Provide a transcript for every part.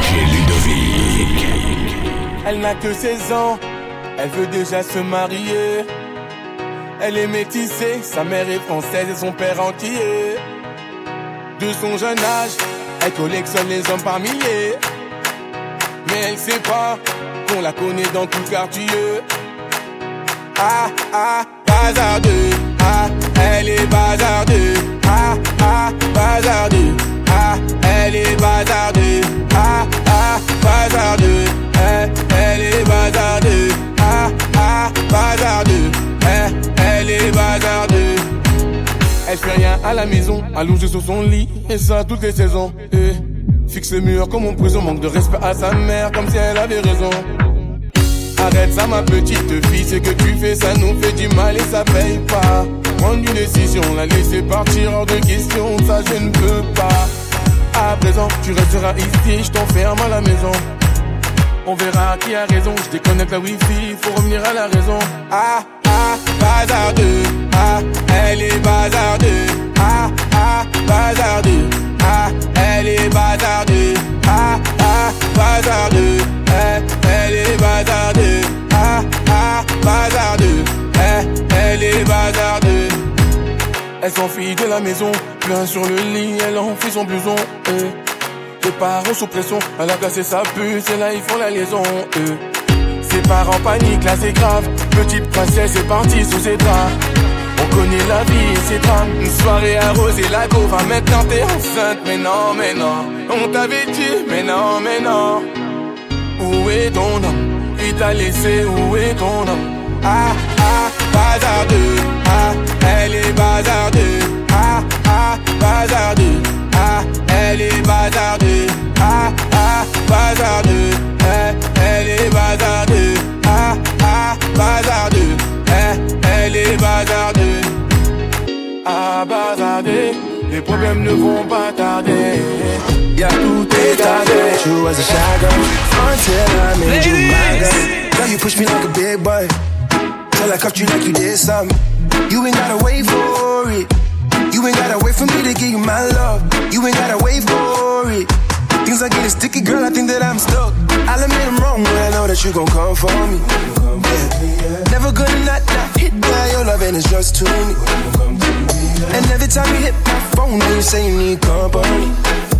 DJ Ludovic. Elle n'a que 16 ans, elle veut déjà se marier. Elle est métissée, sa mère est française et son père entier. De son jeune âge, elle collectionne les hommes par milliers. Mais elle sait pas qu'on la connaît dans tout quartier. Ah, ah, bazardeux. Ah, elle est bazardeux. Ah, ah, bazardeux. Ah, elle est bazardeux. Ah, ah, bazardeux. Elle est bazardeux. Ah, ah, bazardeux. Elle est bazardeux. Elle fait rien à la maison, allongée sur son lit, et ça toutes les saisons. Fixe le mur comme en prison, manque de respect à sa mère, comme si elle avait raison. Arrête ça ma petite fille, ce que tu fais ça nous fait du mal et ça paye pas. Prendre une décision, la laisser partir hors de question, ça je ne peux pas. À présent, tu resteras ici, je t'enferme à la maison. On verra qui a raison, je déconnecte la wifi, faut revenir à la raison. Ah, ah, bazardeux. Ah, elle est bazardeux. Ah, ah, bazardeux. Ah, elle est bazardeux. Ah, ah, bazardeux. Elle est bazardeux. Ah, ah, bazardeux. Elle est bazardeux. Elle s'enfuit de la maison, plein sur le lit, elle enfuit son blouson. Les parents sous pression, elle a cassé sa puce et là ils font la liaison. Ses parents paniquent, là c'est grave. Petite princesse est partie sous ses draps. On connaît la vie et ses drames. Une soirée arrosée, la go va maintenant t'es enceinte. Mais non, mais non, on t'avait dit, mais non, mais non. Où est ton homme? Il t'a laissé, où est ton homme? Ah, ah, bazardeux. Ah, elle est bazardeux. Ah, ah, bazardeux. Ah, elle est bazardeux. Ah, ah, bazardeux. Elle est bazardeux. Ah, ah, bazardeux. Elle est bazardeux. Ah, bazardeux. Les problèmes ne vont pas tarder. Y'a tout est tardé. You as a shy girl until I made you my girl. Girl, you push me like a big boy till I cuffed you like you did something. You ain't gotta wait for it. You ain't gotta wait for me to give you my love. You ain't gotta wait for it. Things are getting sticky, girl, I think that I'm stuck. I'll admit I'm wrong, but I know that you gon' come for me. Yeah. Never gonna not hit by your love and it's just too me. And every time you hit my phone, you say you need company.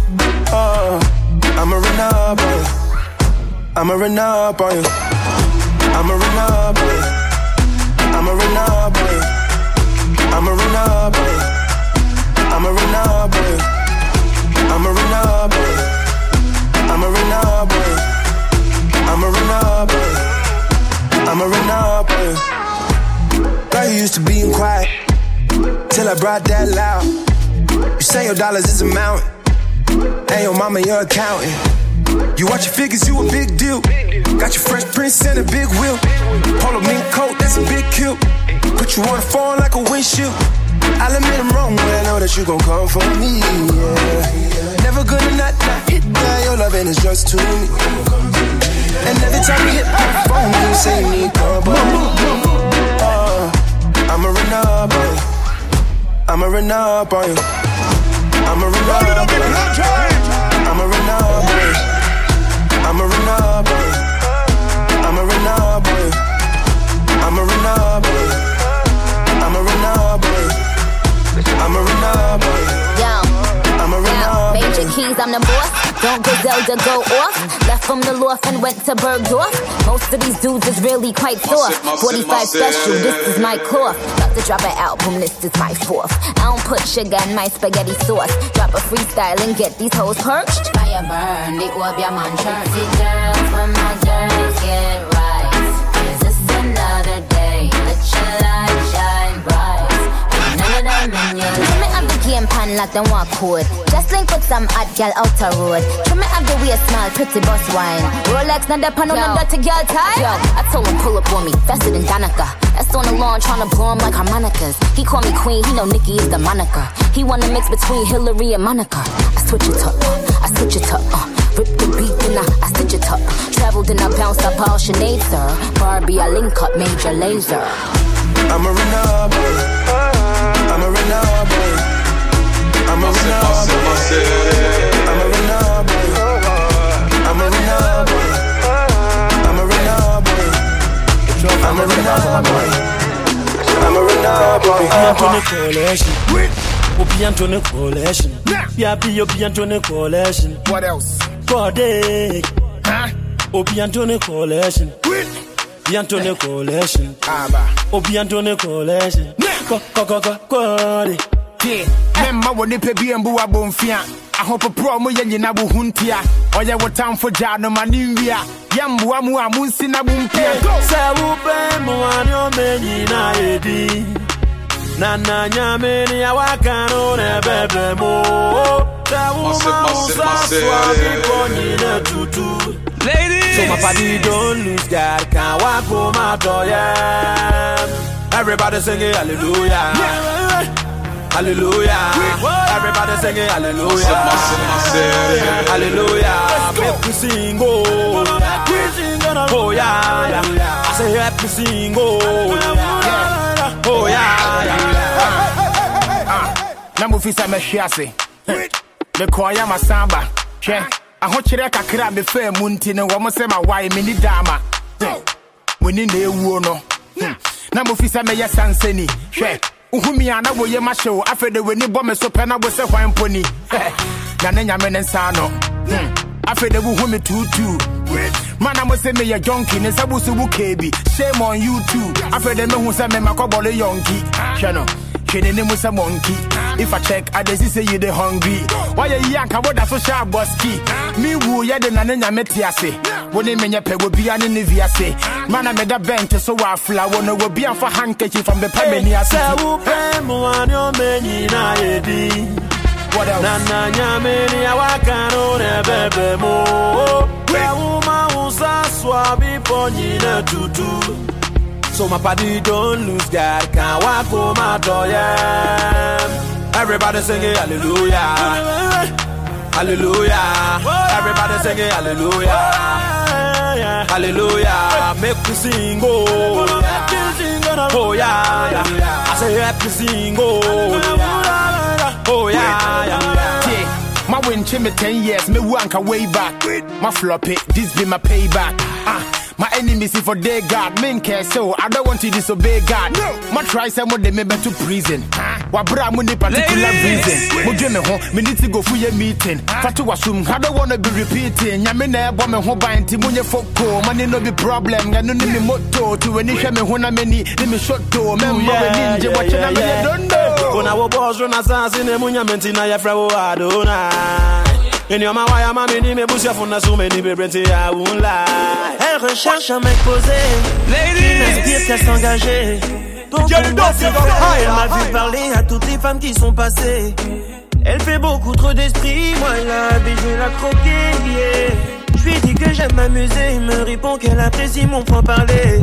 I'ma run up on you. I'ma run up on you. I'ma run up on you. I'ma run up on you. I'ma run up on you. I'ma run up on you. I'ma run up on you. I'ma run up on you. I'ma run up on you. I'ma run up on you. Girl, you used to being quiet till I brought that loud. You say your dollars is a mountain, and your mama your accountant. You watch your figures, you a big deal. Got your Fresh Prince and a big wheel. Polo mink coat, that's a big kill. Put you on the phone like a windshield. I'll admit I'm wrong, but I know that you gon' come for me, yeah. Never gonna not hit by your love and it's just too me. And every time you hit my phone, you say you need company. I'ma run up on you. I'ma run up on you. I'ma run up on you. I'ma run up on you. I'ma run up on you. I'ma run up on you. I'ma run up on you. I'ma run up on you. I'ma run up on you. I'ma run up on you. Major keys, I'm the boss. Don't go Zelda, go off. Left from the loft and went to Bergdorf. Most of these dudes is really quite soft. 45 special, this is my cloth. About to drop an album, this is my fourth. I don't put sugar in my spaghetti sauce. Drop a freestyle and get these hoes perched. Fire burn, they up your man church. See girls, when my girls get right. Is this another day? Let your light shine bright. Ain't none of them in your life. Trim it up the game pan like them walk code. Just link with some hot girl outer road. Trim it up the waist smile, pretty boss wine. Rolex, not the pan on them dirty girl tie. Yo, I told him pull up on me, faster than Danica. That's on the lawn, tryna blow him like harmonicas. He call me queen, he know Nicki is the moniker. He wanna mix between Hillary and Monica. I switch it up, I switch it up, rip the beat then I stitch it up. Traveled and I bounced up all Sinead, sir. Barbie, I link up Major Lazer. I'ma run up on you. I'ma run up on you. I'ma run up on you. I'ma run up on you. I'ma collection. Obiantone collection. Yapi Obiantone collection. What else? Kode. Obiantone collection. Obiantone collection. Obiantone collection. Kode. Memma woni pe bi embu abonfia. Ahopo pro mo yenye na buhuntia. Oye wo time for jano maninwia. Yambu amu amunsi na bumpia. Se upe mo anyo menyi na edi. Nana nyameni ya wakano ne bebe mo. Se uma usaswa biponi ne tutu. Ladies, so my body don't lose God. Can't walk home out everybody singing hallelujah. Hallelujah. Everybody singing hallelujah. Hallelujah. Make me sing, oh yeah. I say let me sing, oh yeah. Namu fisa me shiase. Me kwaya masamba. Che. Ahochire kakra me fa munti ne wo mo se ma wai me ni dama. Woni na ewu no. Namu fisa me yesanseni. Hwe. Uhumi ana wo ye ma hyew afede weni bo me so pe na bo se hwan poni. Na ne nyame ne nsa no. Afede wo humi tutu. Mana mo se me ye jonki ne sabusu bu kebi. Shame on you too. Afede me hu se me makobole yonki. Hwe no. Shene ne musa monkey. If I check, I just say you the hungry. Why you yanka what that's so sharp boski? Me woo ya de nane nyametiase. Woni menye pe wo bia ne viase. Mana me da bench so wa fla wona wo bia for handkerchief from the pemeni ase. Se wo pe mo anyo menyi na edi. What else? Nana nyameni ya wakano ne bebe mo. Se uma usaswa biponi ne tutu. So my body don't lose God, can't walk home out everybody singing hallelujah. Hallelujah. Everybody singing hallelujah. Hallelujah. Make me sing, oh yeah. I say let me sing, oh yeah. My win me 10 years, me wanka way back. My floppy, this be my payback. My enemies if for they God, men care so I don't want to disobey God. My try some of them me to prison. Wabra money particular reason. Mujeme ho, me need to go for your meeting. Fatu wasum, I don't wanna be repeating. Yamene bombe ho ba inti munye foko. Money no be problem. Ganu ni mi moto. To any shame hona meni, ni mi shoto. Membo ninja watching na me don't know. Kona wo boss run assassin ne munya menti na ya fra wo adona. En yo ma waya ma me ni me busia fona so me ni be brenti ya won lie. Elle recherche un mec posé, qui n'inspire qu'à s'engager. Donc elle m'a vu parler à toutes les femmes qui sont passées. Elle fait beaucoup trop d'esprit, moi la vie je vais la croquer, yeah. Je lui dis que j'aime m'amuser, il me répond qu'elle apprécie mon franc-parler.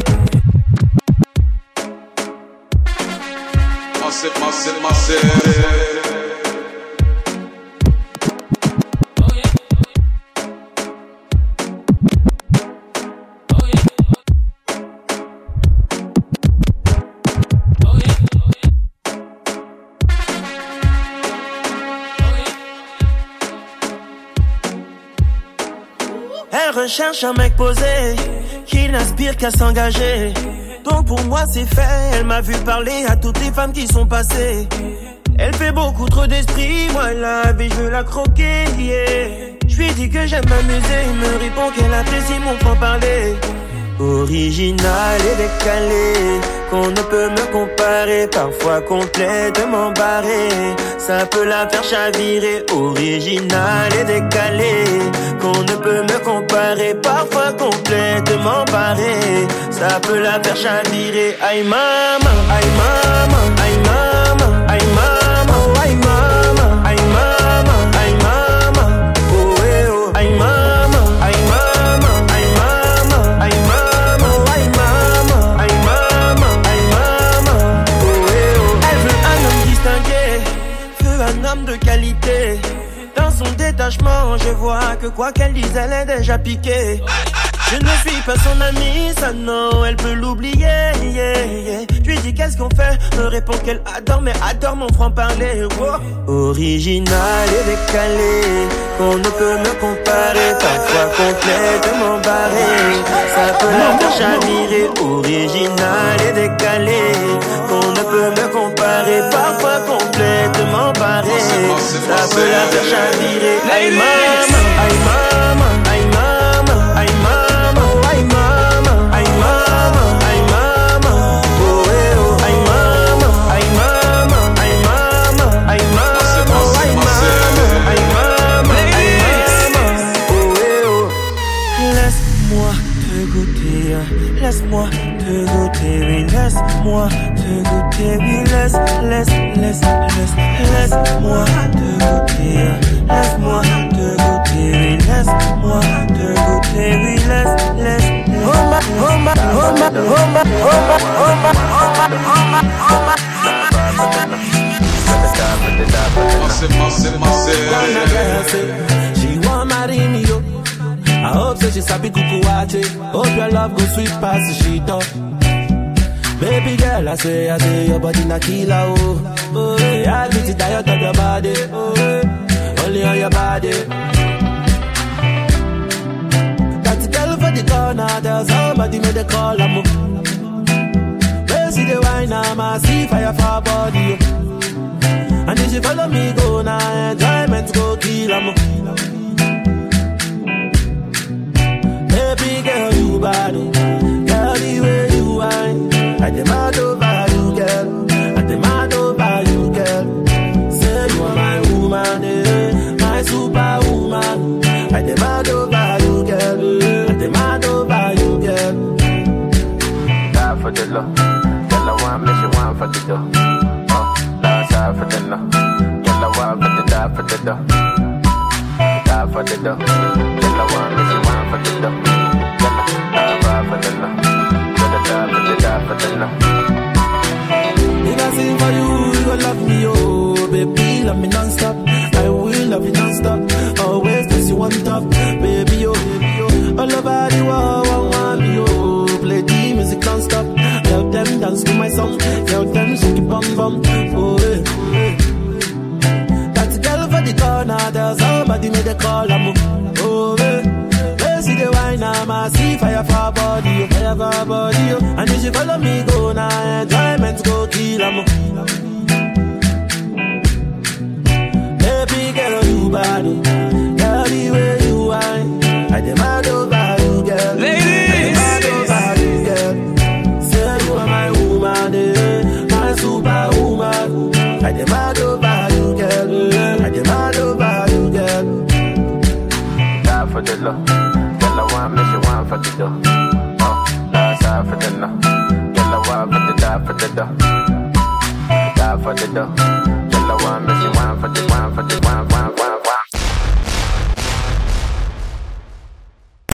Elle recherche un mec posé, qui n'aspire qu'à s'engager. Donc pour moi c'est fait, elle m'a vu parler à toutes les femmes qui sont passées. Elle fait beaucoup trop d'esprit, moi la vie je veux la croquer, yeah. Je lui dis que j'aime m'amuser, il me répond qu'elle apprécie mon franc-parler. Original et décalé, qu'on ne peut me comparer, parfois complètement barré, ça peut la faire chavirer. Original et décalé, qu'on ne peut me comparer, parfois complètement barré, ça peut la faire chavirer. Aïe maman, aïe maman, aïe maman, aïe maman, aïe maman, aïe maman, aïe maman, oh eh oh, aïe maman, aïe maman, aïe maman, aïe maman, aïe maman, aïe maman, aïe maman, oh eh oh. Elle veut un homme distingué, veut un homme de qualité. Dans son détachement, je vois que quoi qu'elle dise, elle est déjà piquée. Je ne suis pas son amie, ça non, elle peut l'oublier, yeah, yeah. Je lui dis qu'est-ce qu'on fait, me répond qu'elle adore, mais adore mon franc-parler, wow. Original et décalé, qu'on ne peut me comparer, parfois complètement barré. Ça peut la faire chavirer, original et décalé. Qu'on ne peut me comparer, parfois complètement barré. Ça peut la faire chavirer. Aïe mama, aïe mama, aïe mama, aïe mama, aïe mama, aïe mama, aïe mama, oh eh oh, aïe mama, aïe mama, aïe mama, aïe mama, aïe mama, aïe mama, aïe mama, oh eh oh. Laisse-moi te goûter, laisse-moi te goûter, oui, laisse-moi te goûter, oui, laisse-moi te goûter, laisse-moi te goûter, oui, laisse-moi te goûter, oui, laisse. She want marry me, yo. I hope so she sabi kukuwache. Hope your love go sweet past the sheet up. Baby girl, I say your body na killer, oh. Oh, yeah, I beat it diet of your body, oh, yeah. Only on your body. Got the girl for the corner, there's somebody made a call, I'm up. Where see the wine, I see fire for her body, oh. And if she follow me, go now, enjoyment go kill, I'm up. Baby girl, you bad, oh. Girl, the way you whine, I demand over you, girl. I demand over you, girl. Say you are my woman, my superwoman. I demand over you, girl. I demand over you, girl. Die for the love, girl. I want me, she want for the dough. Die for the love, girl. I want for the die for the dough. Die for the dough, girl. I want me, she want for the dough. Girl, die for the love. If I sing for you, you gon' love me, oh. Baby, love me non-stop. I will love you non-stop. Always place you on top. Baby, oh, baby, oh. All over the world, I want me, oh. Play the music non-stop. Tell them dance to my song. Tell them shake it bum bum. Oh, yeah, oh, yeah. That's a girl for the corner. There's somebody made a call, I'm oh, yeah. See the wine, I see fire for her body, oh, fire for her body, oh. And if she follow me, go now, enjoyment go kill, I'm baby girl, you bad, oh. Girl, the way you whine, I demand over you, girl. Ladies, I demand over you, girl. Say you are my woman, my superwoman. I demand over you, girl. I demand over you, girl. Die for the love. I want me, she want for the dough. Die for the love. Girl, I want for the die for the dough. Die for the dough.